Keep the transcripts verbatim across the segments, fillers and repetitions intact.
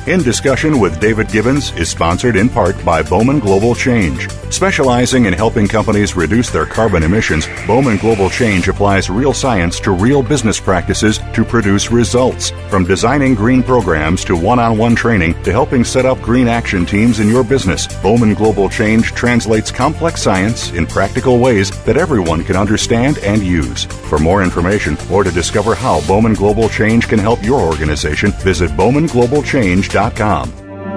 In Discussion with David Gibbons is sponsored in part by Bowman Global Change. Specializing in helping companies reduce their carbon emissions, Bowman Global Change applies real science to real business practices to produce results. From designing green programs to one-on-one training to helping set up green action teams in your business, Bowman Global Change translates complex science in practical ways that everyone can understand and use. For more information or to discover how Bowman Global Change can help your organization, visit bowman global change dot com.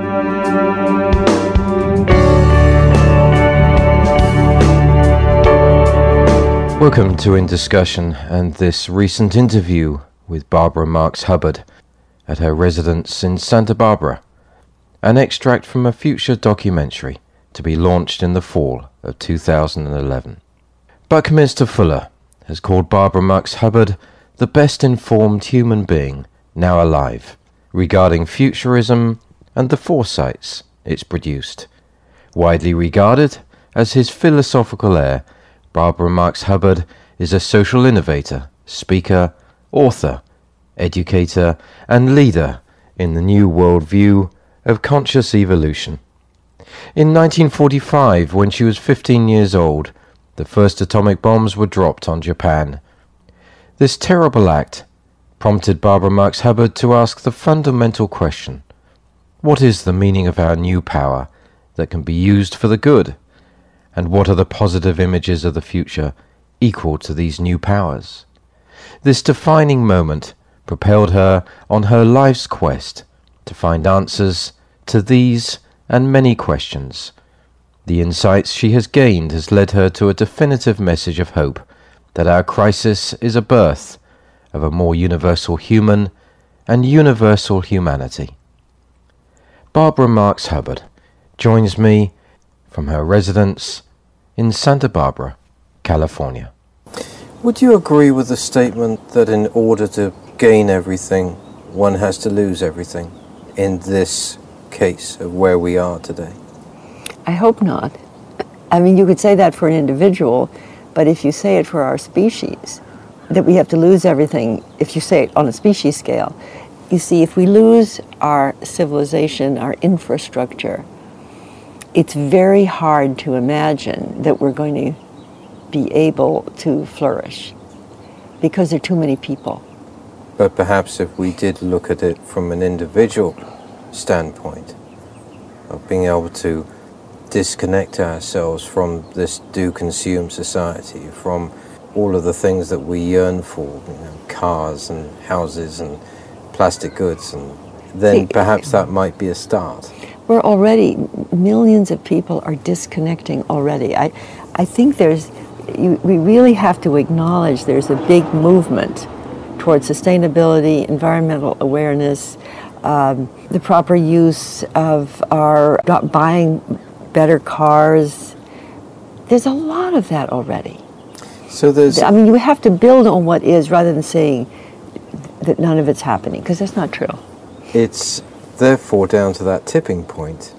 Welcome to In Discussion and this recent interview with Barbara Marx Hubbard at her residence in Santa Barbara, an extract from a future documentary to be launched in the fall of two thousand eleven. Buckminster Fuller has called Barbara Marx Hubbard the best informed human being now alive regarding futurism and the foresights it's produced. Widely regarded as his philosophical heir, Barbara Marx Hubbard is a social innovator, speaker, author, educator, and leader in the new worldview of conscious evolution. In nineteen forty-five, when she was fifteen years old, the first atomic bombs were dropped on Japan. This terrible act prompted Barbara Marx Hubbard to ask the fundamental question: what is the meaning of our new power that can be used for the good? And what are the positive images of the future equal to these new powers? This defining moment propelled her on her life's quest to find answers to these and many questions. The insights she has gained has led her to a definitive message of hope that our crisis is a birth of a more universal human and universal humanity. Barbara Marx Hubbard joins me from her residence in Santa Barbara, California. Would you agree with the statement that in order to gain everything, one has to lose everything in this case of where we are today? I hope not. I mean, you could say that for an individual, but if you say it for our species, that we have to lose everything, if you say it on a species scale, you see, if we lose our civilization, our infrastructure, it's very hard to imagine that we're going to be able to flourish because there are too many people. But perhaps if we did look at it from an individual standpoint of being able to disconnect ourselves from this do-consume society, from all of the things that we yearn for, you know, cars and houses and plastic goods, and then See, perhaps that might be a start. We're already, millions of people are disconnecting already. I, I think there's, you, we really have to acknowledge there's a big movement towards sustainability, environmental awareness, um, the proper use of our buying better cars. There's a lot of that already. So there's, I mean, you have to build on what is rather than saying that none of it's happening, because that's not true. It's therefore down to that tipping point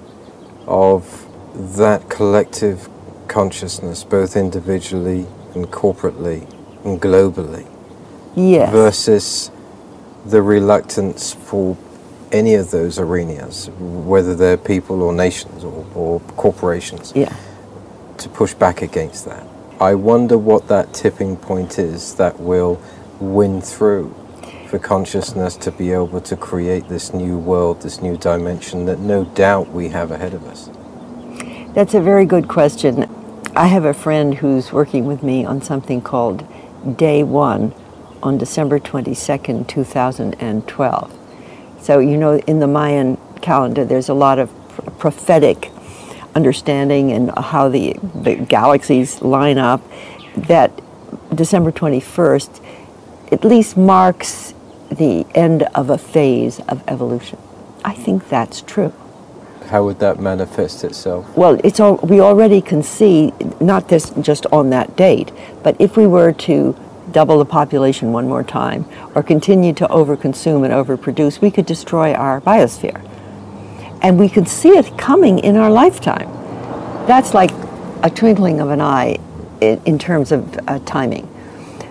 of that collective consciousness, both individually and corporately and globally, yes, versus the reluctance for any of those arenas, whether they're people or nations or, or corporations, yeah, to push back against that. I wonder what that tipping point is that will win through for consciousness to be able to create this new world, this new dimension that no doubt we have ahead of us. That's a very good question. I have a friend who's working with me on something called Day One on December twenty-second, two thousand twelve. So, you know, in the Mayan calendar, there's a lot of pr- prophetic understanding and how the, the galaxies line up. That December twenty-first at least marks the end of a phase of evolution. I think that's true. How would that manifest itself? Well, it's all, we already can see, not this just on that date, but if we were to double the population one more time or continue to overconsume and overproduce, we could destroy our biosphere. And we could see it coming in our lifetime. That's like a twinkling of an eye in, in terms of uh, timing.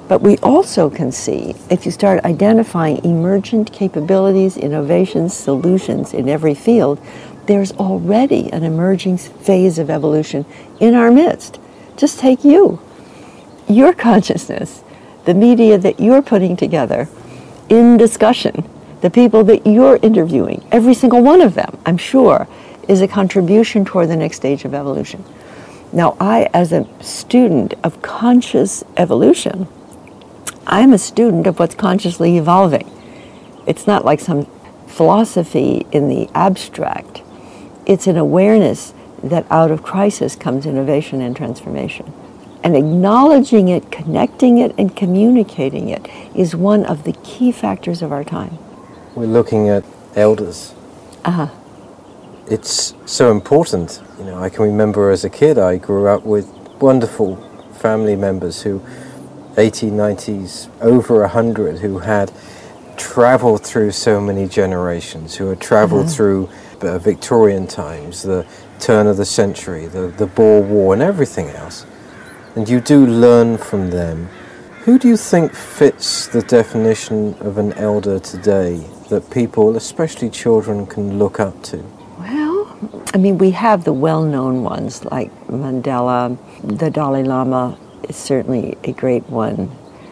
But we also can see, if you start identifying emergent capabilities, innovations, solutions in every field, there's already an emerging phase of evolution in our midst. Just take you, your consciousness, the media that you're putting together in discussion, the people that you're interviewing, every single one of them, I'm sure, is a contribution toward the next stage of evolution. Now, I, as a student of conscious evolution, I'm a student of what's consciously evolving. It's not like some philosophy in the abstract. It's an awareness that out of crisis comes innovation and transformation. And acknowledging it, connecting it, and communicating it is one of the key factors of our time. We're looking at elders. Uh-huh. It's so important. You know, I can remember as a kid, I grew up with wonderful family members who, eighties, nineties, over a hundred, who had traveled through so many generations, who had traveled uh-huh. through uh, Victorian times, the turn of the century, the, the Boer War, and everything else. And you do learn from them. Who do you think fits the definition of an elder today that people, especially children, can look up to? Well, I mean, we have the well-known ones like Mandela. The Dalai Lama is certainly a great one.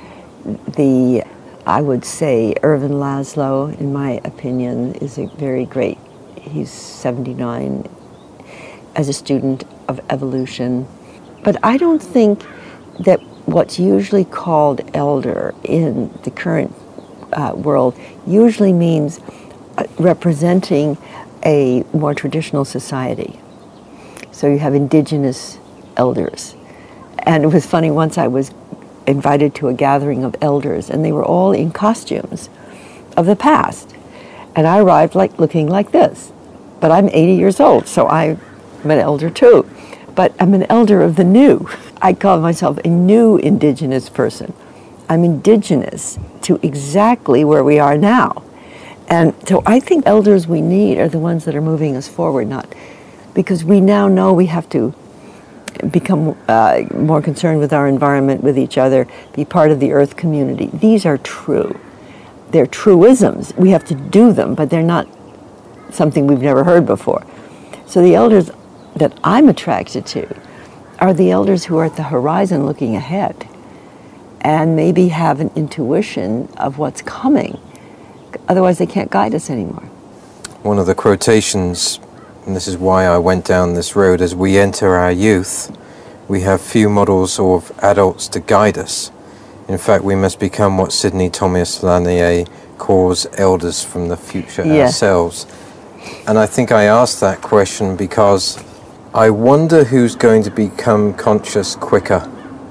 The, I would say, Ervin Laszlo, in my opinion, is a very great. He's seventy-nine as a student of evolution. But I don't think that what's usually called elder in the current uh, world usually means uh, representing a more traditional society. So you have indigenous elders. And it was funny, once I was invited to a gathering of elders, and they were all in costumes of the past. And I arrived like looking like this. But I'm eighty years old, so I'm an elder too. But I'm an elder of the new. I call myself a new indigenous person. I'm indigenous to exactly where we are now. And so I think elders we need are the ones that are moving us forward, not because we now know we have to become uh, more concerned with our environment, with each other, be part of the earth community. These are true. They're truisms. We have to do them, but they're not something we've never heard before. So the elders that I'm attracted to are the elders who are at the horizon looking ahead and maybe have an intuition of what's coming. Otherwise, they can't guide us anymore. One of the quotations, and this is why I went down this road, as we enter our youth, we have few models of adults to guide us. In fact, we must become what Sidney Thomas Lanier calls elders from the future yeah. ourselves. And I think I asked that question because I wonder who's going to become conscious quicker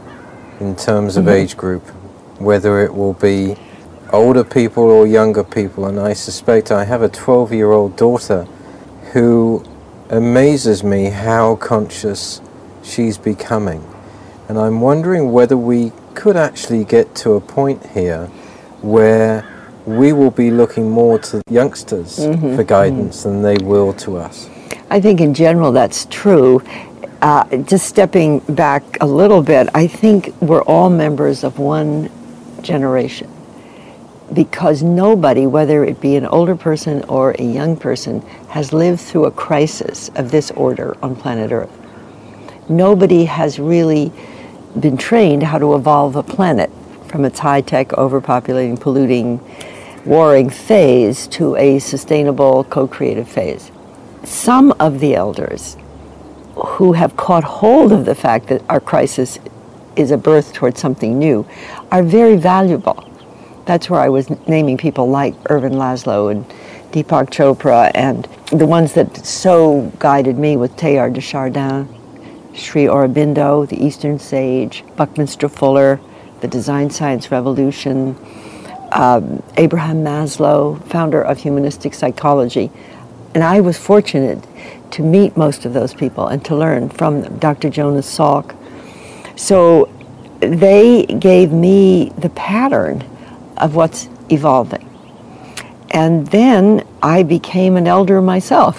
in terms of mm-hmm. age group, whether it will be older people or younger people. And I suspect I have a twelve-year-old daughter who amazes me how conscious she's becoming. And I'm wondering whether we could actually get to a point here where we will be looking more to youngsters mm-hmm. for guidance mm-hmm. than they will to us. I think in general that's true. Uh, just stepping back a little bit, I think we're all members of one generation, because nobody, whether it be an older person or a young person, has lived through a crisis of this order on planet Earth. Nobody has really been trained how to evolve a planet from its high-tech, overpopulating, polluting, warring phase to a sustainable, co-creative phase. Some of the elders who have caught hold of the fact that our crisis is a birth towards something new are very valuable. That's where I was naming people like Ervin Laszlo and Deepak Chopra, and the ones that so guided me with Teilhard de Chardin, Sri Aurobindo, the Eastern Sage, Buckminster Fuller, the Design Science Revolution, um, Abraham Maslow, founder of humanistic psychology. And I was fortunate to meet most of those people and to learn from them, Doctor Jonas Salk. So they gave me the pattern of what's evolving. And then I became an elder myself.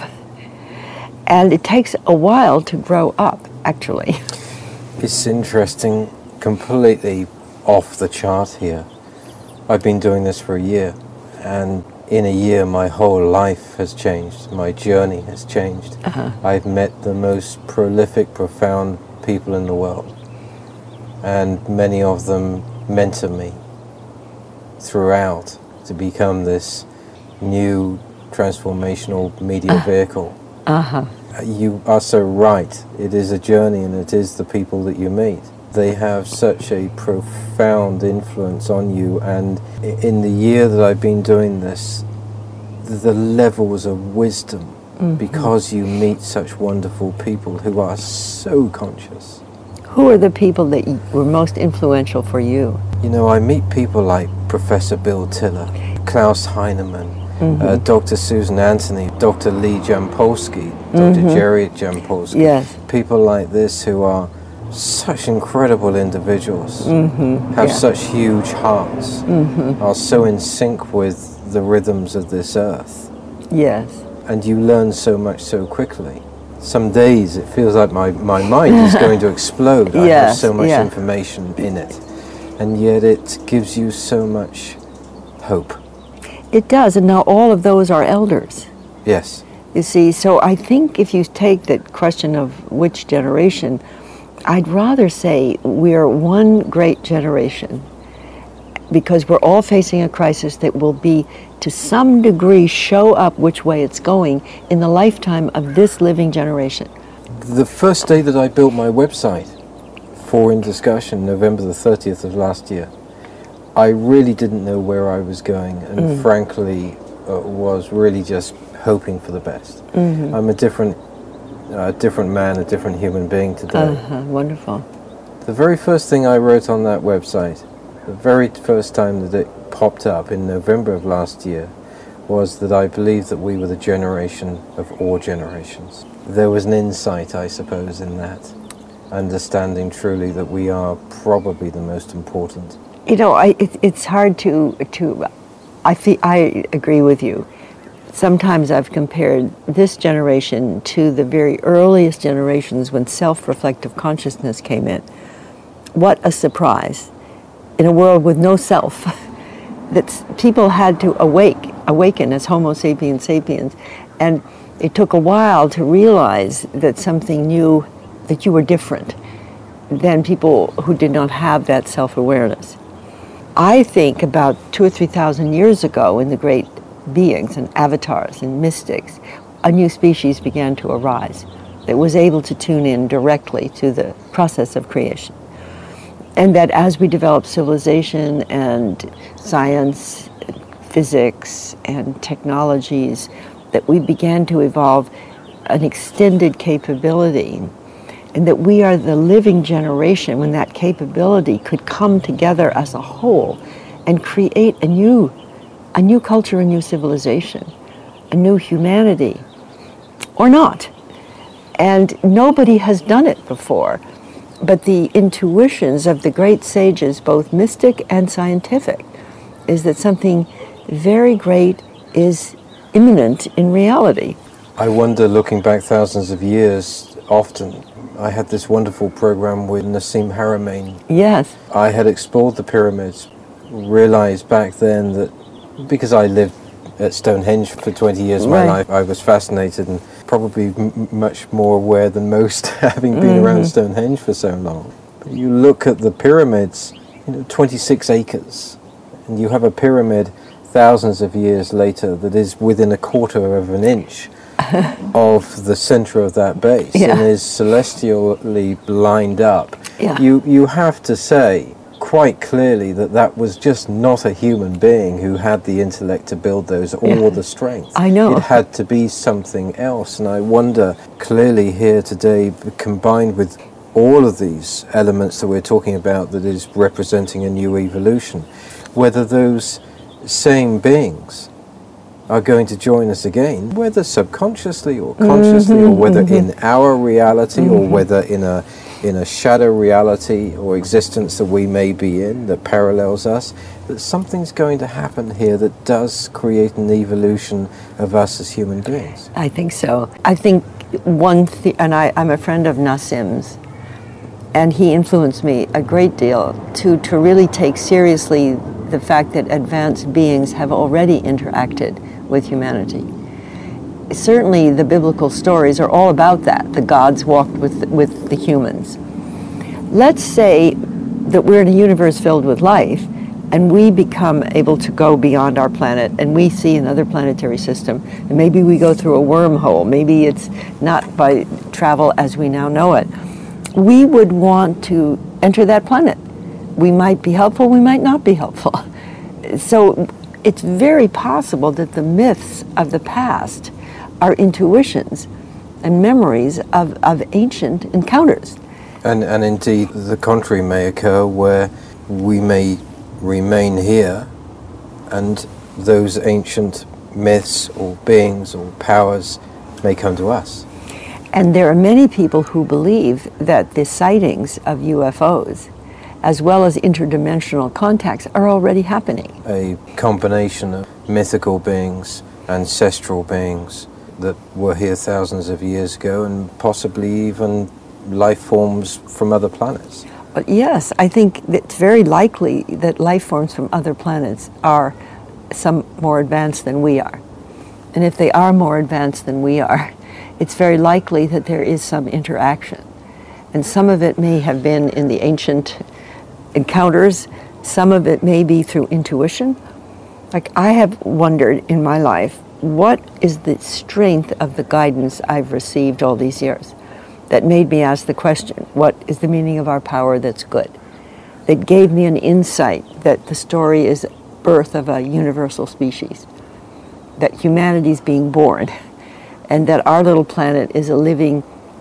And it takes a while to grow up, actually. It's interesting, completely off the chart here. I've been doing this for a year, and in a year my whole life has changed. My journey has changed. Uh-huh. I've met the most prolific, profound people in the world, and many of them mentor me throughout to become this new transformational media uh, vehicle. Uh-huh. You are so right. It is a journey, and it is the people that you meet. They have such a profound influence on you, and in the year that I've been doing this, the levels of wisdom, mm-hmm. because you meet such wonderful people who are so conscious. Who are the people that were most influential for you? You know, I meet people like Professor Bill Tiller, Klaus Heinemann, mm-hmm. uh, Doctor Susan Anthony, Doctor Lee Jampolsky, Doctor Mm-hmm. Jerry Jampolsky. Yes. People like this who are such incredible individuals, mm-hmm. have yeah. such huge hearts, mm-hmm. are so in sync with the rhythms of this earth. Yes. And you learn so much so quickly. Some days it feels like my, my mind is going to explode. Yes, I have so much yeah. information in it. And yet it gives you so much hope. It does, and now all of those are elders. Yes. You see, so I think if you take that question of which generation, I'd rather say we're one great generation, because we're all facing a crisis that will be, to some degree, show up which way it's going in the lifetime of this living generation. The first day that I built my website for In Discussion, November the thirtieth of last year, I really didn't know where I was going, and mm. frankly uh, was really just hoping for the best. Mm-hmm. I'm a different a different man, a different human being today. Uh-huh, wonderful. The very first thing I wrote on that website, the very first time that it popped up in November of last year, was that I believed that we were the generation of all generations. There was an insight, I suppose, in that, understanding truly that we are probably the most important. You know, I, it, it's hard to, to I, feel, I agree with you. Sometimes I've compared this generation to the very earliest generations when self-reflective consciousness came in. What a surprise. In a world with no self, that people had to awake, awaken as Homo sapiens sapiens. And it took a while to realize that something new, that you were different than people who did not have that self-awareness. I think about two or three thousand years ago, in the great beings and avatars and mystics, a new species began to arise that was able to tune in directly to the process of creation. And that as we developed civilization and science, physics and technologies, that we began to evolve an extended capability, and that we are the living generation when that capability could come together as a whole and create a new a new culture, a new civilization, a new humanity, or not. And nobody has done it before. But the intuitions of the great sages, both mystic and scientific, is that something very great is imminent in reality. I wonder, looking back thousands of years, often, I had this wonderful program with Nassim Haramein. Yes. I had explored the pyramids, realized back then that because I lived at Stonehenge for twenty years of my right. life, I was fascinated and probably m- much more aware than most, having been mm-hmm. around Stonehenge for so long. But you look at the pyramids, you know, twenty-six acres, and you have a pyramid thousands of years later that is within a quarter of an inch of the center of that base, yeah. and is celestially lined up. Yeah. You you have to say quite clearly that that was just not a human being who had the intellect to build those, or yeah. the strength. I know. It had to be something else, and I wonder, clearly here today, combined with all of these elements that we're talking about that is representing a new evolution, whether those same beings are going to join us again, whether subconsciously or consciously, mm-hmm, or whether mm-hmm. in our reality, mm-hmm. or whether in a in a shadow reality or existence that we may be in that parallels us, that something's going to happen here that does create an evolution of us as human beings. I think so. I think one thing, and I, I'm a friend of Nassim's, and he influenced me a great deal to, to really take seriously the fact that advanced beings have already interacted with humanity. Certainly the biblical stories are all about that. The gods walked with, with the humans. Let's say that we're in a universe filled with life, and we become able to go beyond our planet, and we see another planetary system, and maybe we go through a wormhole. Maybe it's not by travel as we now know it. We would want to enter that planet. We might be helpful, we might not be helpful. So it's very possible that the myths of the past are intuitions and memories of, of ancient encounters. And, and indeed, the contrary may occur, where we may remain here and those ancient myths or beings or powers may come to us. And there are many people who believe that the sightings of U F Os, as well as interdimensional contacts, are already happening. A combination of mythical beings, ancestral beings that were here thousands of years ago, and possibly even life forms from other planets. But yes, I think it's very likely that life forms from other planets are some more advanced than we are. And if they are more advanced than we are, it's very likely that there is some interaction. And some of it may have been in the ancient encounters, some of it may be through intuition. Like, I have wondered in my life, what is the strength of the guidance I've received all these years that made me ask the question, what is the meaning of our power that's good? That gave me an insight that the story is birth of a universal species, that humanity is being born, and that our little planet is a living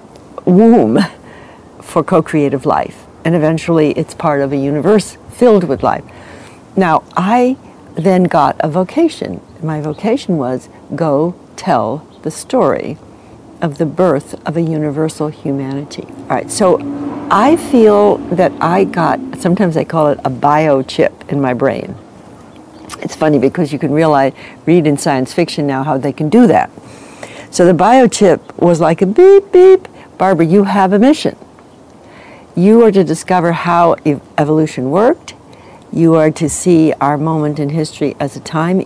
womb for co-creative life, and eventually it's part of a universe filled with life. Now, I then got a vocation. My vocation was, go tell the story of the birth of a universal humanity. All right, so I feel that I got, sometimes I call it a biochip in my brain. It's funny because you can realize, read in science fiction now how they can do that. So the biochip was like a beep, beep. Barbara, you have a mission. You are to discover how ev- evolution worked. You are to see our moment in history as a time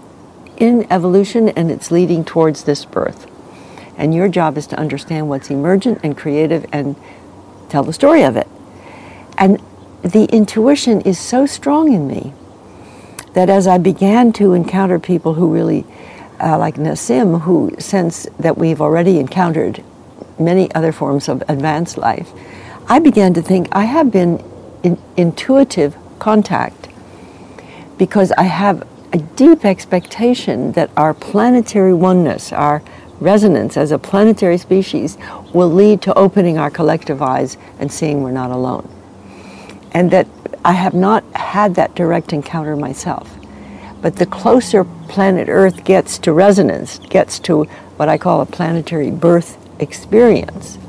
in evolution, and it's leading towards this birth. And your job is to understand what's emergent and creative and tell the story of it. And the intuition is so strong in me that as I began to encounter people who really, uh, like Nassim, who sense that we've already encountered many other forms of advanced life, I began to think I have been in intuitive contact because I have a deep expectation that our planetary oneness, our resonance as a planetary species, will lead to opening our collective eyes and seeing we're not alone. And that I have not had that direct encounter myself. But the closer planet Earth gets to resonance, gets to what I call a planetary birth experience,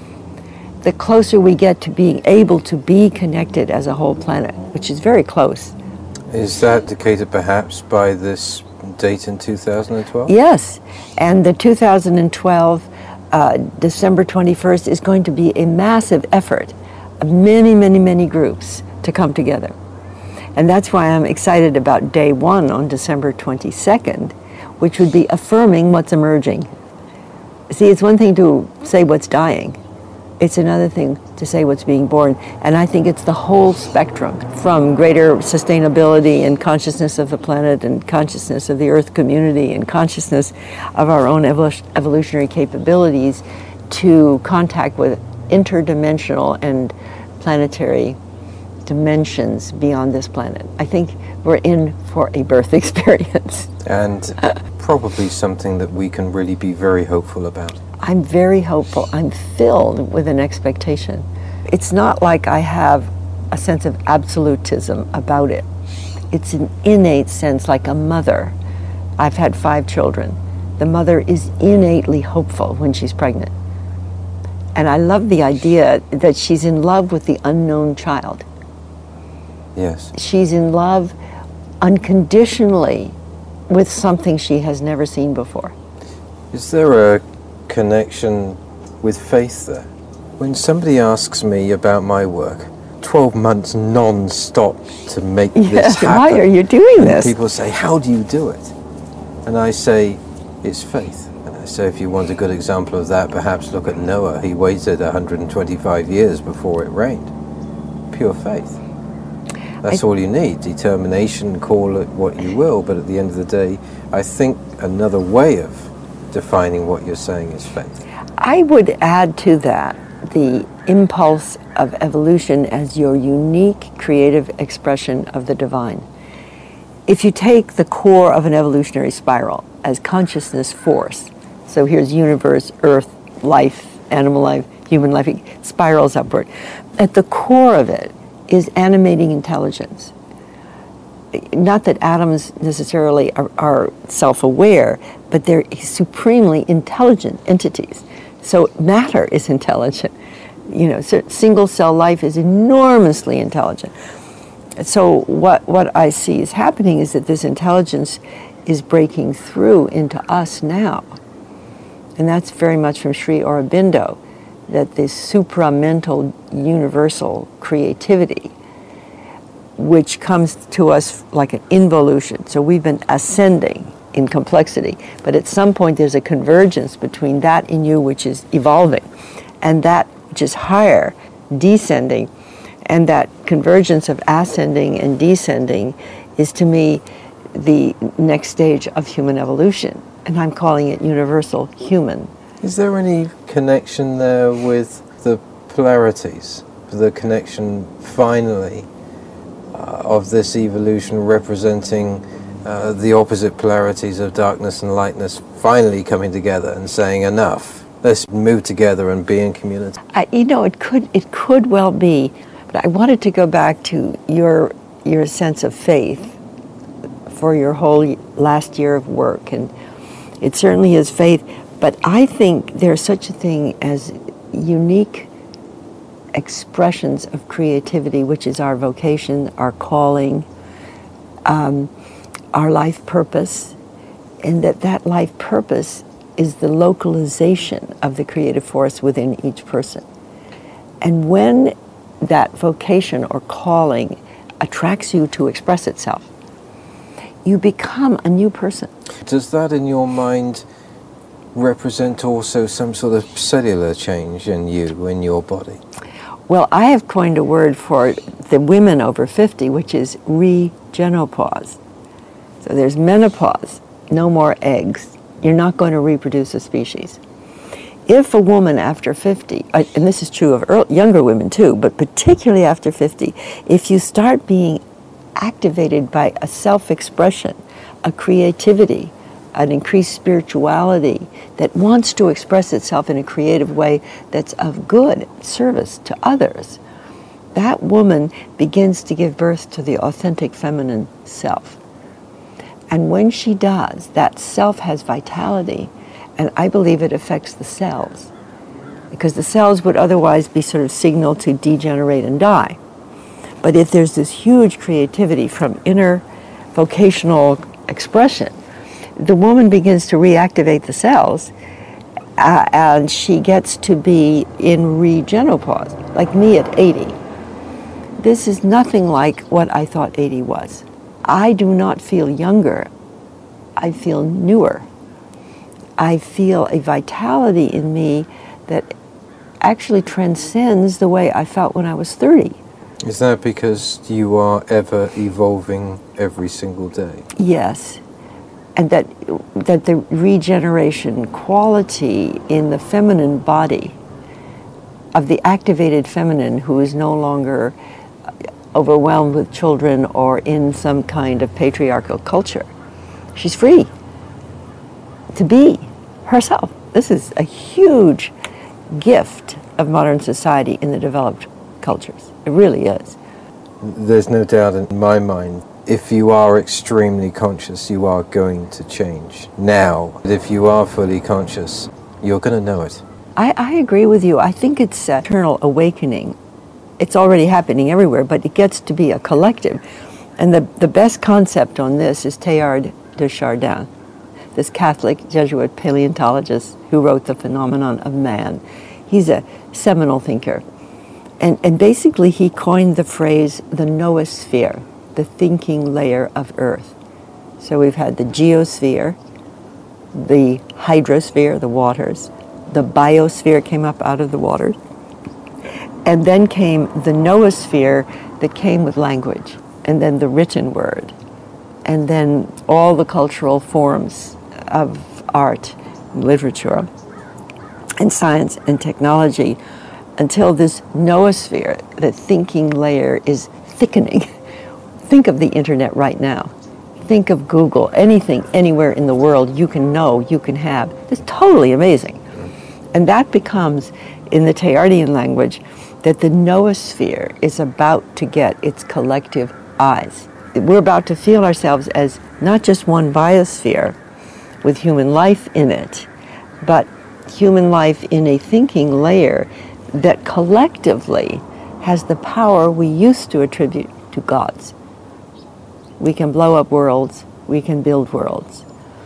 the closer we get to being able to be connected as a whole planet, which is very close. Is that dictated perhaps by this date in two thousand twelve? Yes, and the two thousand twelve, uh, December twenty-first, is going to be a massive effort of many, many, many groups to come together. And that's why I'm excited about day one on December twenty-second, which would be affirming what's emerging. See, it's one thing to say what's dying. It's another thing to say what's being born. And I think it's the whole spectrum, from greater sustainability and consciousness of the planet and consciousness of the Earth community and consciousness of our own evol- evolutionary capabilities to contact with interdimensional and planetary dimensions beyond this planet. I think we're in for a birth experience. And probably something that we can really be very hopeful about. I'm very hopeful. I'm filled with an expectation. It's not like I have a sense of absolutism about it. It's an innate sense, like a mother. I've had five children. The mother is innately hopeful when she's pregnant. And I love the idea that she's in love with the unknown child. Yes. She's in love unconditionally with something she has never seen before. Is there a connection with faith there? When somebody asks me about my work, twelve months non-stop to make yes, this happen. Why are you doing and this? People say, how do you do it? And I say, it's faith. And I say, if you want a good example of that, perhaps look at Noah. He waited one hundred twenty-five years before it rained. Pure faith. That's I, all you need. Determination, call it what you will, but at the end of the day, I think another way of defining what you're saying is faith. I would add to that the impulse of evolution as your unique creative expression of the divine. If you take the core of an evolutionary spiral as consciousness force, so here's universe, earth, life, animal life, human life, it spirals upward. At the core of it is animating intelligence. Not that atoms necessarily are, are self-aware, but they're supremely intelligent entities. So matter is intelligent. You know, so single cell life is enormously intelligent. So what, what I see is happening is that this intelligence is breaking through into us now. And that's very much from Sri Aurobindo, that this supramental universal creativity, which comes to us like an involution. So we've been ascending in complexity, but at some point there's a convergence between that in you, which is evolving, and that which is higher, descending. And that convergence of ascending and descending is, to me, the next stage of human evolution. And I'm calling it universal human. Is there any connection there with the polarities? The connection, finally, uh, of this evolution representing uh, the opposite polarities of darkness and lightness finally coming together and saying, enough, let's move together and be in community? I, you know, it could, it could well be. But I wanted to go back to your your sense of faith for your whole last year of work, and it certainly is faith. But I think there's such a thing as unique expressions of creativity, which is our vocation, our calling, um, our life purpose, and that that life purpose is the localization of the creative force within each person. And when that vocation or calling attracts you to express itself, you become a new person. Does that, in your mind, represent also some sort of cellular change in you, in your body? Well, I have coined a word for the women over fifty, which is regenopause. So there's menopause, no more eggs. You're not going to reproduce a species. If a woman after fifty, and this is true of early, younger women too, but particularly after fifty, if you start being activated by a self-expression, a creativity, an increased spirituality that wants to express itself in a creative way that's of good service to others, that woman begins to give birth to the authentic feminine self. And when she does, that self has vitality, and I believe it affects the cells, because the cells would otherwise be sort of signaled to degenerate and die. But if there's this huge creativity from inner vocational expression, the woman begins to reactivate the cells, uh, and she gets to be in regenopause, like me at eighty. This is nothing like what I thought eighty was. I do not feel younger. I feel newer. I feel a vitality in me that actually transcends the way I felt when I was thirty. Is that because you are ever evolving every single day? Yes. And that that the regeneration quality in the feminine body of the activated feminine who is no longer overwhelmed with children or in some kind of patriarchal culture. She's free to be herself. This is a huge gift of modern society in the developed cultures. It really is. There's no doubt in my mind, if you are extremely conscious, you are going to change. Now, if you are fully conscious, you're going to know it. I, I agree with you. I think it's an eternal awakening. It's already happening everywhere, but it gets to be a collective. And the, the best concept on this is Teilhard de Chardin, this Catholic Jesuit paleontologist who wrote The Phenomenon of Man. He's a seminal thinker. And, and basically he coined the phrase the noosphere, the thinking layer of Earth. So we've had the geosphere, the hydrosphere, the waters, the biosphere came up out of the waters, and then came the noosphere that came with language, and then the written word, and then all the cultural forms of art, and literature, and science and technology, until this noosphere, the thinking layer, is thickening. Think of the internet right now. Think of Google, anything, anywhere in the world you can know, you can have. It's totally amazing. And that becomes, in the Teilhardian language, that the noosphere is about to get its collective eyes. We're about to feel ourselves as not just one biosphere with human life in it, but human life in a thinking layer that collectively has the power we used to attribute to gods. We can blow up worlds, we can build worlds.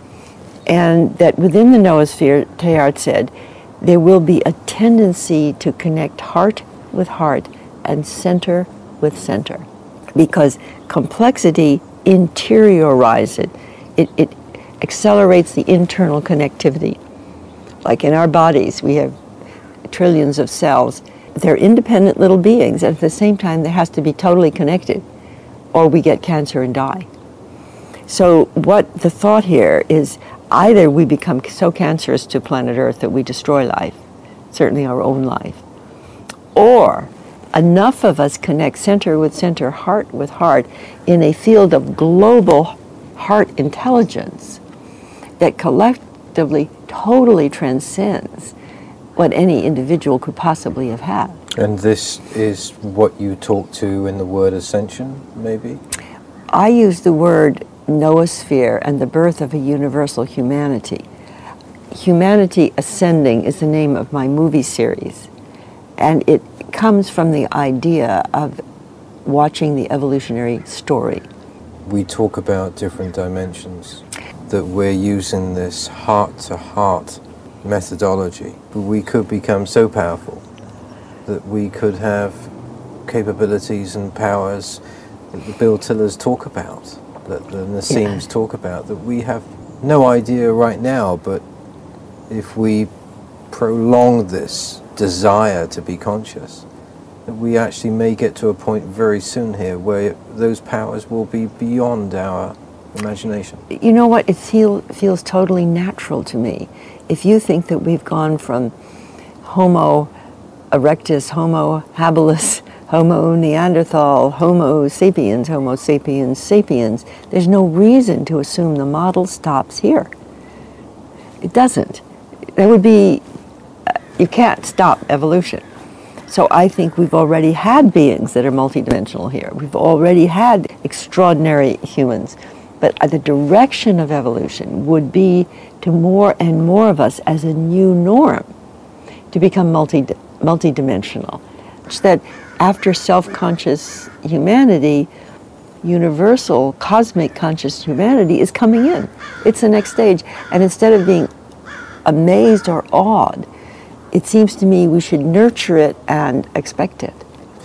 And that within the noosphere, Teilhard said, there will be a tendency to connect heart with heart and center with center. Because complexity interiorizes it. It, it accelerates the internal connectivity. Like in our bodies, we have trillions of cells. They're independent little beings, and at the same time, there has to be totally connected, or we get cancer and die. So what the thought here is, either we become so cancerous to planet Earth that we destroy life, certainly our own life, or enough of us connect center with center, heart with heart, in a field of global heart intelligence that collectively totally transcends what any individual could possibly have had. And this is what you talk to in the word ascension, maybe? I use the word noosphere and the birth of a universal humanity. Humanity Ascending is the name of my movie series, and it comes from the idea of watching the evolutionary story. We talk about different dimensions, that we're using this heart-to-heart methodology. We could become so powerful that we could have capabilities and powers that the Bill Tillers talk about, that the Nassim's yeah. talk about, that we have no idea right now, but if we prolong this desire to be conscious, that we actually may get to a point very soon here where those powers will be beyond our imagination. You know what? It feel, feels totally natural to me. If you think that we've gone from Homo erectus, Homo habilis, Homo Neanderthal, Homo sapiens, Homo sapiens sapiens, there's no reason to assume the model stops here. It doesn't. That would be, you can't stop evolution. So I think we've already had beings that are multidimensional here. We've already had extraordinary humans. But the direction of evolution would be to more and more of us as a new norm to become multi multidimensional. Such that after self-conscious humanity, universal cosmic conscious humanity is coming in. It's the next stage. And instead of being amazed or awed, it seems to me we should nurture it and expect it.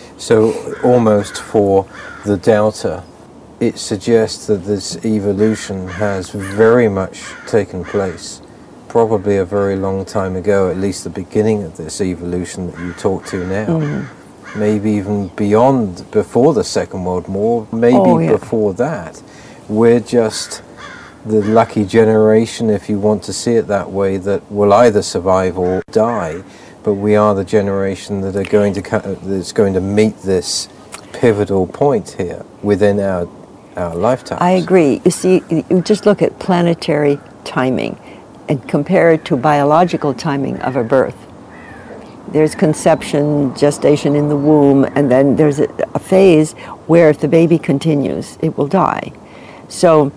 So almost for the doubter, it suggests that this evolution has very much taken place, probably a very long time ago, at least the beginning of this evolution that you talk to now. Mm-hmm. Maybe even beyond, before the Second World War, maybe oh, yeah. before that. We're just the lucky generation, if you want to see it that way, that will either survive or die, but we are the generation that are going to that's going to meet this pivotal point here within our our lifetimes. I agree. You see, you just look at planetary timing and compare it to biological timing of a birth. There's conception, gestation in the womb, and then there's a, a phase where if the baby continues, it will die. So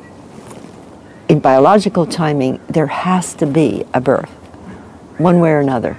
in biological timing, there has to be a birth, one way or another.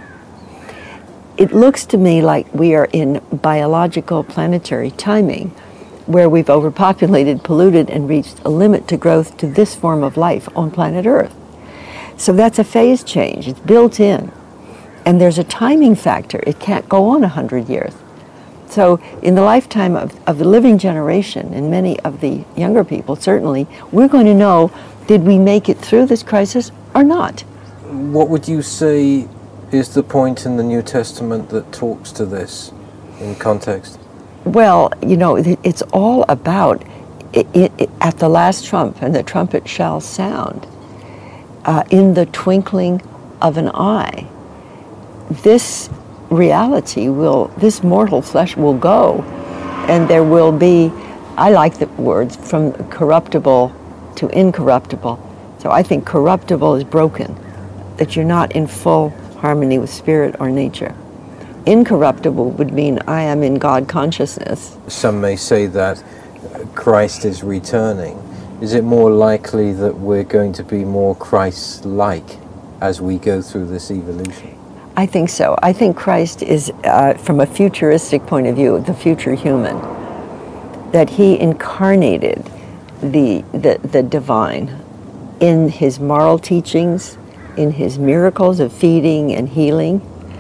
It looks to me like we are in biological planetary timing, where we've overpopulated, polluted, and reached a limit to growth to this form of life on planet Earth. So that's a phase change. It's built in. And there's a timing factor. It can't go on a hundred years. So in the lifetime of, of the living generation, and many of the younger people, certainly, we're going to know, did we make it through this crisis or not? What would you say is the point in the New Testament that talks to this in context? Well, you know, it, it's all about it, it, it, at the last trump, and the trumpet shall sound, uh, in the twinkling of an eye. This reality will, this mortal flesh will go, and there will be, I like the words, from corruptible to incorruptible. So I think corruptible is broken, that you're not in full harmony with spirit or nature. Incorruptible would mean I am in God consciousness. Some may say that Christ is returning. Is it more likely that we're going to be more Christ-like as we go through this evolution? I think so. I think Christ is, uh, from a futuristic point of view, the future human, that he incarnated the, the, the divine in his moral teachings, in his miracles of feeding and healing,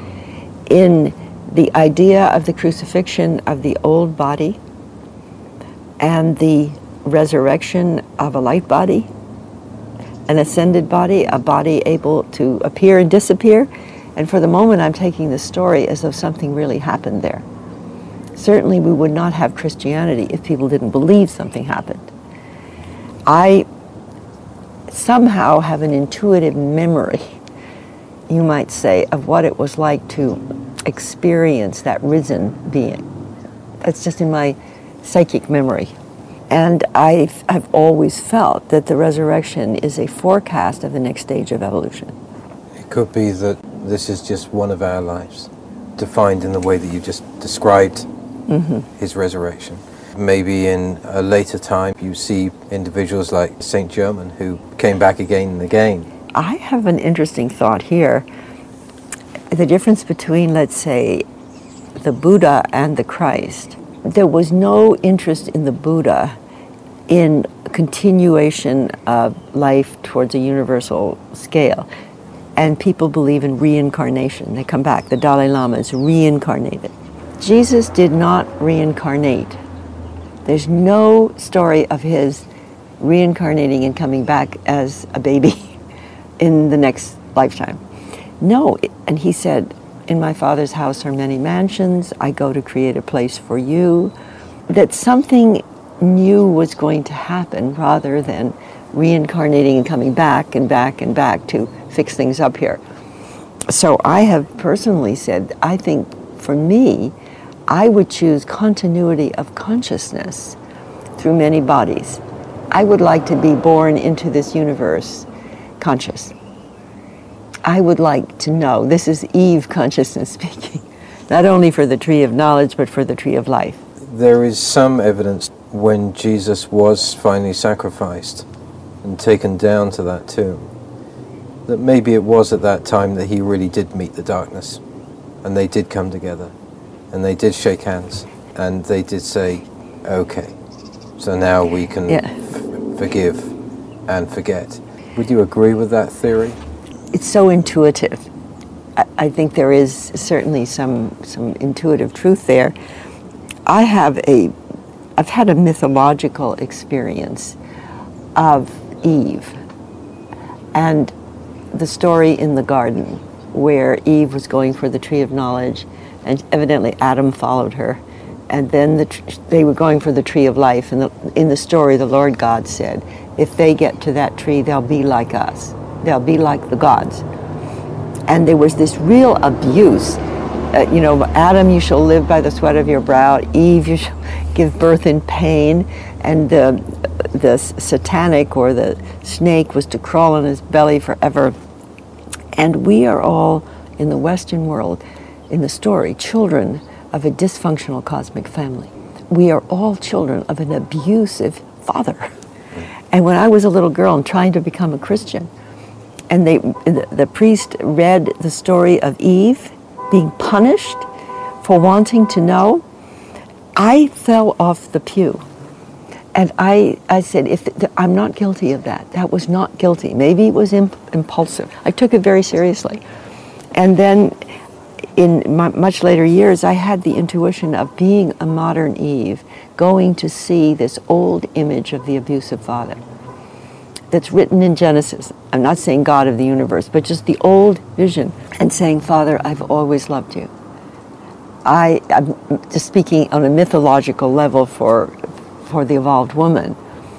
in the idea of the crucifixion of the old body and the resurrection of a light body, an ascended body, a body able to appear and disappear. And for the moment, I'm taking the story as though something really happened there. Certainly, we would not have Christianity if people didn't believe something happened. I somehow have an intuitive memory, you might say, of what it was like to experience that risen being. That's just in my psychic memory. And I've, I've always felt that the resurrection is a forecast of the next stage of evolution. It could be that this is just one of our lives, defined in the way that you just described mm-hmm. his resurrection. Maybe in a later time you see individuals like Saint Germain who came back again and again. I have an interesting thought here. The difference between, let's say, the Buddha and the Christ. There was no interest in the Buddha in continuation of life towards a universal scale. And people believe in reincarnation. They come back. The Dalai Lama is reincarnated. Jesus did not reincarnate. There's no story of his reincarnating and coming back as a baby in the next lifetime. No, and he said, in my Father's house are many mansions. I go to create a place for you. That something new was going to happen rather than reincarnating and coming back and back and back to fix things up here. So I have personally said, I think for me, I would choose continuity of consciousness through many bodies. I would like to be born into this universe conscious. I would like to know, this is Eve consciousness speaking, not only for the tree of knowledge, but for the tree of life. There is some evidence when Jesus was finally sacrificed and taken down to that tomb, that maybe it was at that time that he really did meet the darkness, and they did come together, and they did shake hands, and they did say, okay, so now we can yeah. f- forgive and forget. Would you agree with that theory? It's so intuitive. I, I think there is certainly some some intuitive truth there. I have a, I've had a mythological experience of Eve and the story in the garden where Eve was going for the tree of knowledge, and evidently Adam followed her, and then the tr- they were going for the tree of life, and the, in the story the Lord God said, if they get to that tree, they'll be like us. They'll be like the gods. And there was this real abuse. Uh, you know, Adam, you shall live by the sweat of your brow. Eve, you shall give birth in pain. And the, the satanic or the snake was to crawl on his belly forever. And we are all, in the Western world, in the story, children of a dysfunctional cosmic family. We are all children of an abusive father. And when I was a little girl and trying to become a Christian, and they, the, the priest read the story of Eve being punished for wanting to know, I fell off the pew. And I, I said, if the, I'm not guilty of that. That was not guilty. Maybe it was imp- impulsive. I took it very seriously. And then in my, much later years, I had the intuition of being a modern Eve, going to see this old image of the abusive father that's written in Genesis. I'm not saying God of the universe, but just the old vision, and saying, Father, I've always loved you. I, I'm just speaking on a mythological level for, for the evolved woman.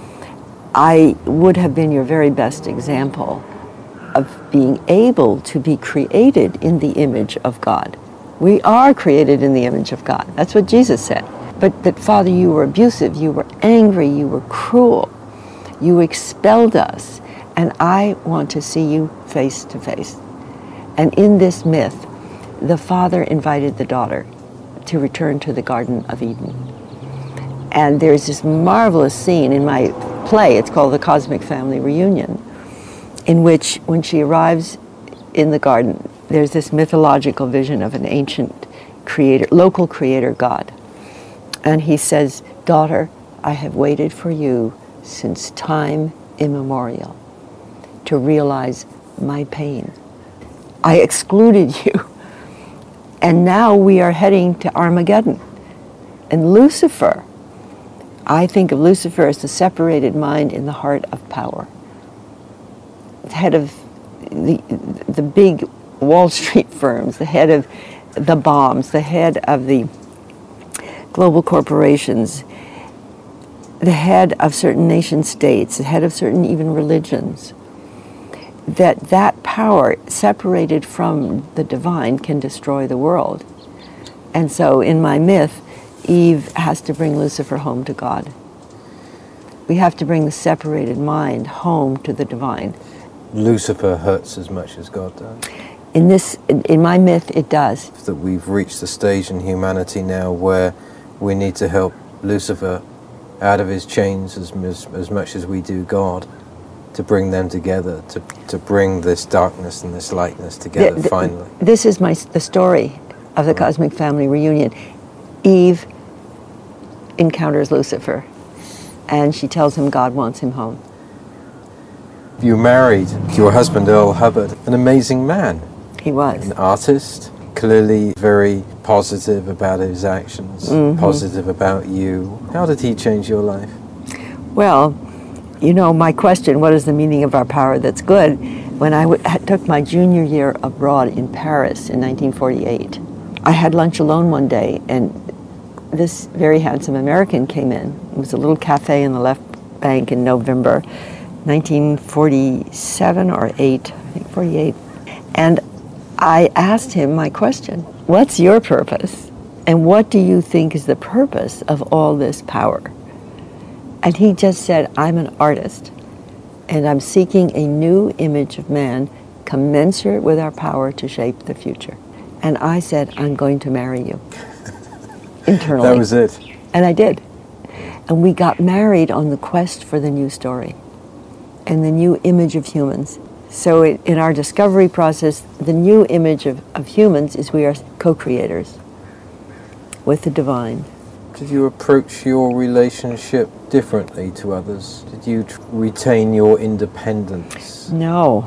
I would have been your very best example of being able to be created in the image of God. We are created in the image of God. That's what Jesus said. But that, Father, you were abusive, you were angry, you were cruel, you expelled us, and I want to see you face to face. And in this myth, the father invited the daughter to return to the Garden of Eden. And there's this marvelous scene in my play, it's called The Cosmic Family Reunion, in which when she arrives in the garden, there's this mythological vision of an ancient creator, local creator God. And he says, daughter, I have waited for you since time immemorial to realize my pain. I excluded you. And now we are heading to Armageddon. And Lucifer, I think of Lucifer as the separated mind in the heart of power. The head of the, the big Wall Street firms, the head of the bombs, the head of the global corporations, the head of certain nation states, the head of certain even religions. That that power separated from the divine can destroy the world. And so in my myth, Eve has to bring Lucifer home to God. We have to bring the separated mind home to the divine. Lucifer hurts as much as God does. In this, in, in my myth, it does. That we've reached the stage in humanity now where we need to help Lucifer out of his chains as, as, as much as we do God, to bring them together, to, to bring this darkness and this lightness together, the, the, finally. This is my the story of the right. Cosmic Family Reunion. Eve encounters Lucifer, and she tells him God wants him home. You married your husband, Earl Hubbard, an amazing man. He was. An artist, clearly very positive about his actions, mm-hmm. positive about you. How did he change your life? Well, you know, my question, what is the meaning of our power that's good? When I w- took my junior year abroad in Paris in nineteen forty-eight, I had lunch alone one day, and this very handsome American came in. It was a little cafe in the left bank in November nineteen forty-seven or eight, I think forty-eight. And I asked him my question, what's your purpose? And what do you think is the purpose of all this power? And he just said, I'm an artist, and I'm seeking a new image of man commensurate with our power to shape the future. And I said, I'm going to marry you. Internally. That was it. And I did. And we got married on the quest for the new story and the new image of humans. So it, in our discovery process, the new image of, of humans is we are co-creators with the divine. Did you approach your relationship differently to others? Did you t- retain your independence? No.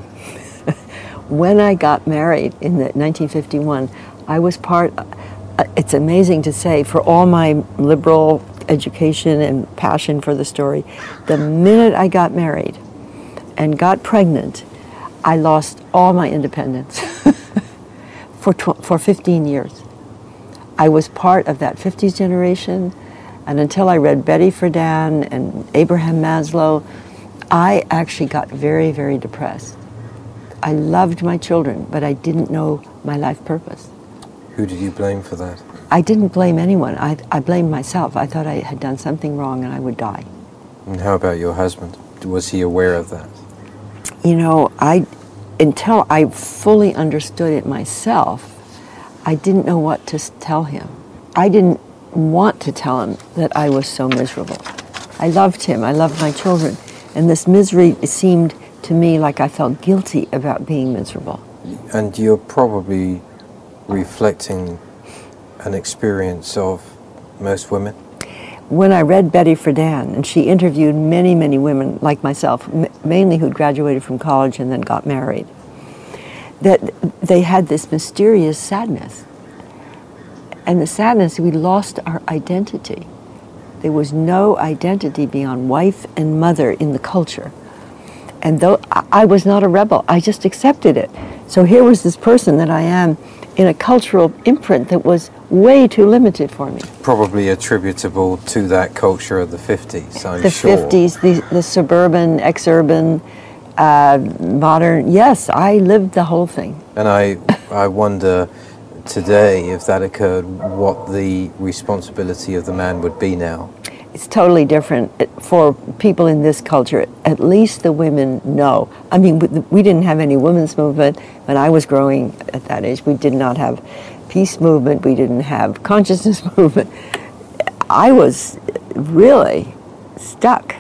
When I got married in the nineteen fifty-one, I was part, uh, it's amazing to say, for all my liberal education and passion for the story, the minute I got married and got pregnant, I lost all my independence for tw- for fifteen years. I was part of that fifties generation, and until I read Betty Friedan and Abraham Maslow, I actually got very, very depressed. I loved my children, but I didn't know my life purpose. Who did you blame for that? I didn't blame anyone. I, I blamed myself. I thought I had done something wrong and I would die. And how about your husband? Was he aware of that? You know, I, until I fully understood it myself, I didn't know what to tell him. I didn't want to tell him that I was so miserable. I loved him. I loved my children. And this misery seemed to me like I felt guilty about being miserable. And you're probably reflecting an experience of most women? When I read Betty Friedan, and she interviewed many, many women like myself, m- mainly who'd graduated from college and then got married, that they had this mysterious sadness. And the sadness, we lost our identity. There was no identity beyond wife and mother in the culture. And though I was not a rebel, I just accepted it. So here was this person that I am in a cultural imprint that was way too limited for me. Probably attributable to that culture of the fifties, I'm the sure. The fifties, the, the suburban, ex-urban, uh, modern, yes, I lived the whole thing. And I, I wonder today, if that occurred, what the responsibility of the man would be now. It's totally different for people in this culture. At least the women know. I mean, we didn't have any women's movement when I was growing at that age. We did not have peace movement. We didn't have consciousness movement. I was really stuck.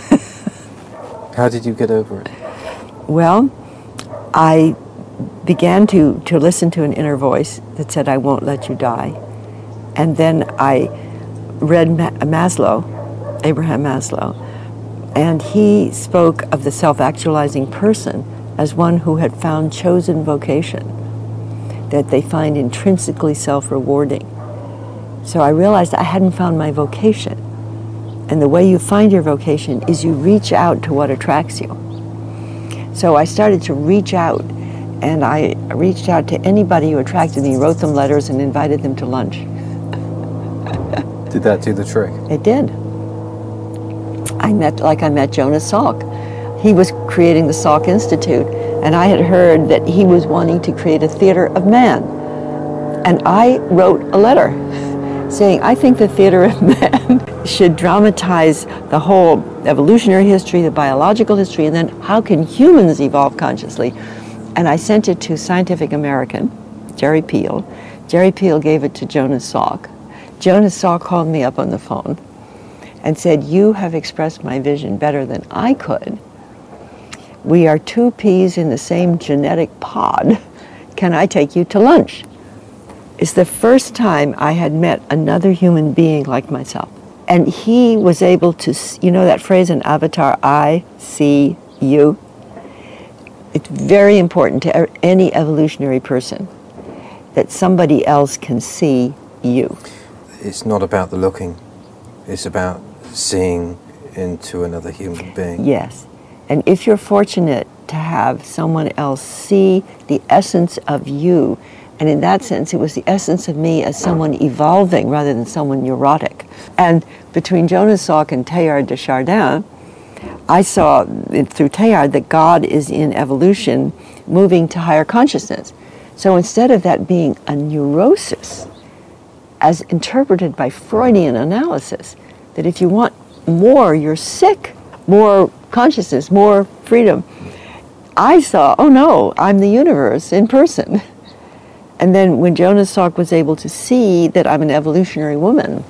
How did you get over it? Well, I began to, to listen to an inner voice that said, I won't let you die. And then I read Ma- Maslow, Abraham Maslow, and he spoke of the self-actualizing person as one who had found chosen vocation that they find intrinsically self-rewarding. So I realized I hadn't found my vocation. And the way you find your vocation is you reach out to what attracts you. So I started to reach out, and I reached out to anybody who attracted me, wrote them letters, and invited them to lunch. Did that do the trick? It did. I met, like I met Jonas Salk. He was creating the Salk Institute, and I had heard that he was wanting to create a theater of man. And I wrote a letter saying, I think the theater of man should dramatize the whole evolutionary history, the biological history, and then how can humans evolve consciously? And I sent it to Scientific American, Jerry Peel. Jerry Peel gave it to Jonas Salk. Jonas Salk called me up on the phone and said, you have expressed my vision better than I could. We are two peas in the same genetic pod. Can I take you to lunch? It's the first time I had met another human being like myself. And he was able to, you know that phrase in Avatar, I see you? It's very important to any evolutionary person that somebody else can see you. It's not about the looking. It's about seeing into another human being. Yes. And if you're fortunate to have someone else see the essence of you, and in that sense, it was the essence of me as someone evolving rather than someone neurotic. And between Jonas Salk and Teilhard de Chardin, I saw through Teilhard that God is in evolution moving to higher consciousness. So instead of that being a neurosis, as interpreted by Freudian analysis, that if you want more, you're sick, more consciousness, more freedom, I saw, oh no, I'm the universe in person. And then when Jonas Salk was able to see that I'm an evolutionary woman,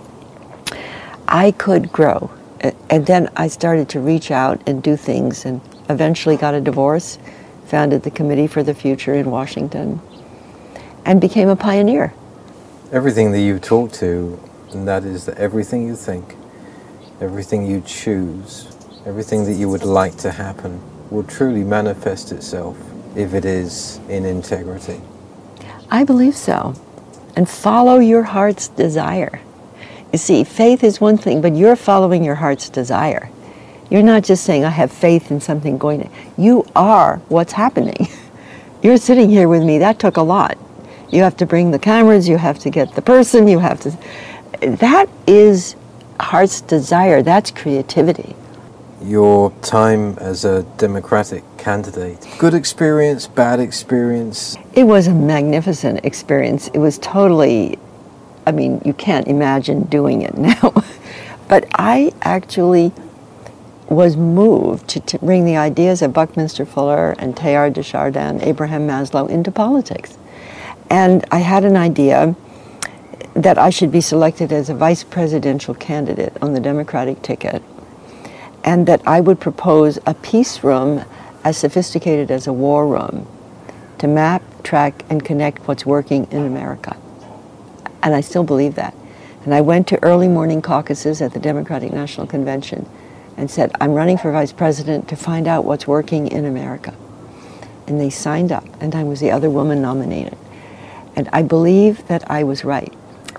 I could grow. And then I started to reach out and do things, and eventually got a divorce, founded the Committee for the Future in Washington, and became a pioneer. Everything that you talk to, and that is that everything you think, everything you choose, everything that you would like to happen will truly manifest itself if it is in integrity. I believe so. And follow your heart's desire. You see, faith is one thing, but you're following your heart's desire. You're not just saying, I have faith in something going to... You are what's happening. You're sitting here with me. That took a lot. You have to bring the cameras, you have to get the person, you have to... That is heart's desire. That's creativity. Your time as a Democratic candidate, good experience, bad experience? It was a magnificent experience. It was totally, I mean, you can't imagine doing it now. But I actually was moved to, to bring the ideas of Buckminster Fuller and Teilhard de Chardin, Abraham Maslow into politics. And I had an idea that I should be selected as a vice presidential candidate on the Democratic ticket, and that I would propose a peace room as sophisticated as a war room to map, track, and connect what's working in America. And I still believe that. And I went to early morning caucuses at the Democratic National Convention and said, I'm running for vice president to find out what's working in America. And they signed up, and I was the other woman nominated. And I believe that I was right.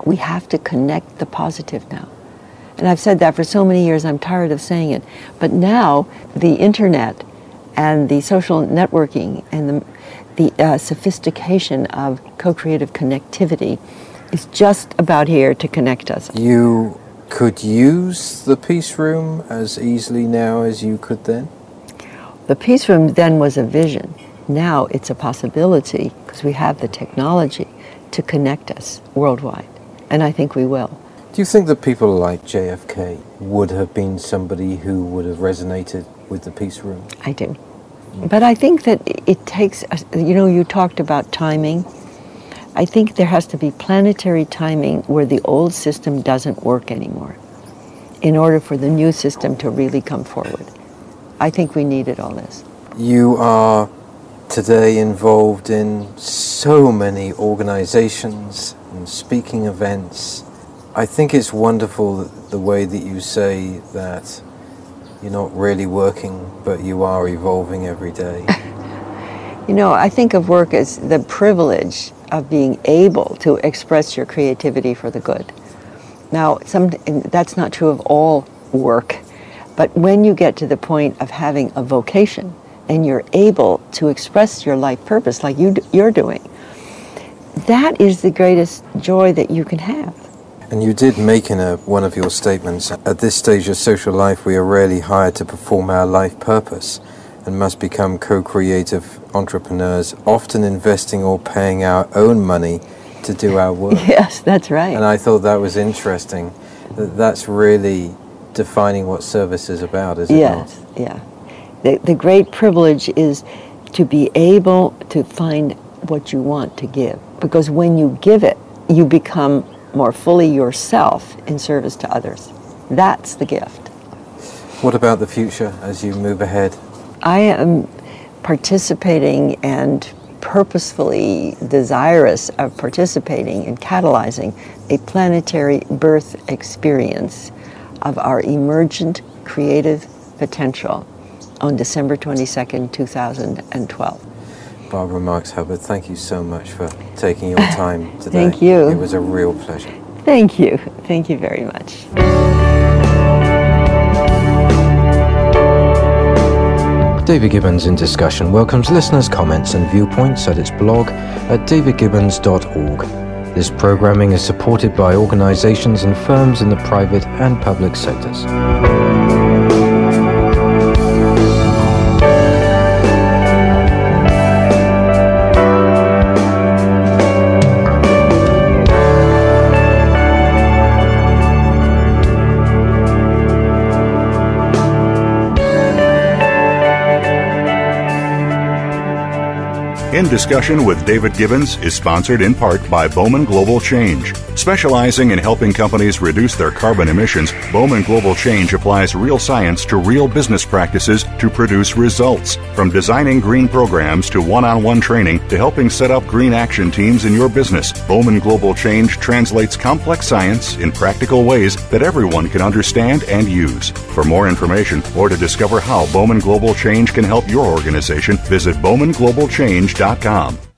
We have to connect the positive now. And I've said that for so many years, I'm tired of saying it. But now, the internet and the social networking and the, the uh, sophistication of co-creative connectivity is just about here to connect us. You could use the Peace Room as easily now as you could then? The Peace Room then was a vision. Now it's a possibility because we have the technology to connect us worldwide. And I think we will. Do you think that people like J F K would have been somebody who would have resonated with the Peace Room? I do. But I think that it takes, you know, you talked about timing. I think there has to be planetary timing where the old system doesn't work anymore in order for the new system to really come forward. I think we needed all this. You are today involved in so many organizations and speaking events. I think it's wonderful the way that you say that you're not really working, but you are evolving every day. You know, I think of work as the privilege of being able to express your creativity for the good. Now, some, that's not true of all work, but when you get to the point of having a vocation and you're able to express your life purpose like you, you're doing, that is the greatest joy that you can have. And you did make in a, one of your statements, at this stage of social life we are rarely hired to perform our life purpose and must become co-creative entrepreneurs, often investing or paying our own money to do our work. Yes, that's right. And I thought that was interesting. That that's really defining what service is about, is it yes, not? Yes, yeah. The, the great privilege is to be able to find what you want to give. Because when you give it, you become more fully yourself in service to others. That's the gift. What about the future as you move ahead? I am participating and purposefully desirous of participating in catalyzing a planetary birth experience of our emergent creative potential on December twenty-second, two thousand twelve. Barbara Marx Hubbard, thank you so much for taking your time today. Thank you. It was a real pleasure. Thank you. Thank you very much. David Gibbons in Discussion welcomes listeners' comments and viewpoints at its blog at david gibbons dot org. This programming is supported by organizations and firms in the private and public sectors. In Discussion with David Gibbons is sponsored in part by Bowman Global Change. Specializing in helping companies reduce their carbon emissions, Bowman Global Change applies real science to real business practices to produce results. From designing green programs to one-on-one training to helping set up green action teams in your business, Bowman Global Change translates complex science in practical ways that everyone can understand and use. For more information or to discover how Bowman Global Change can help your organization, visit bowman global change dot com.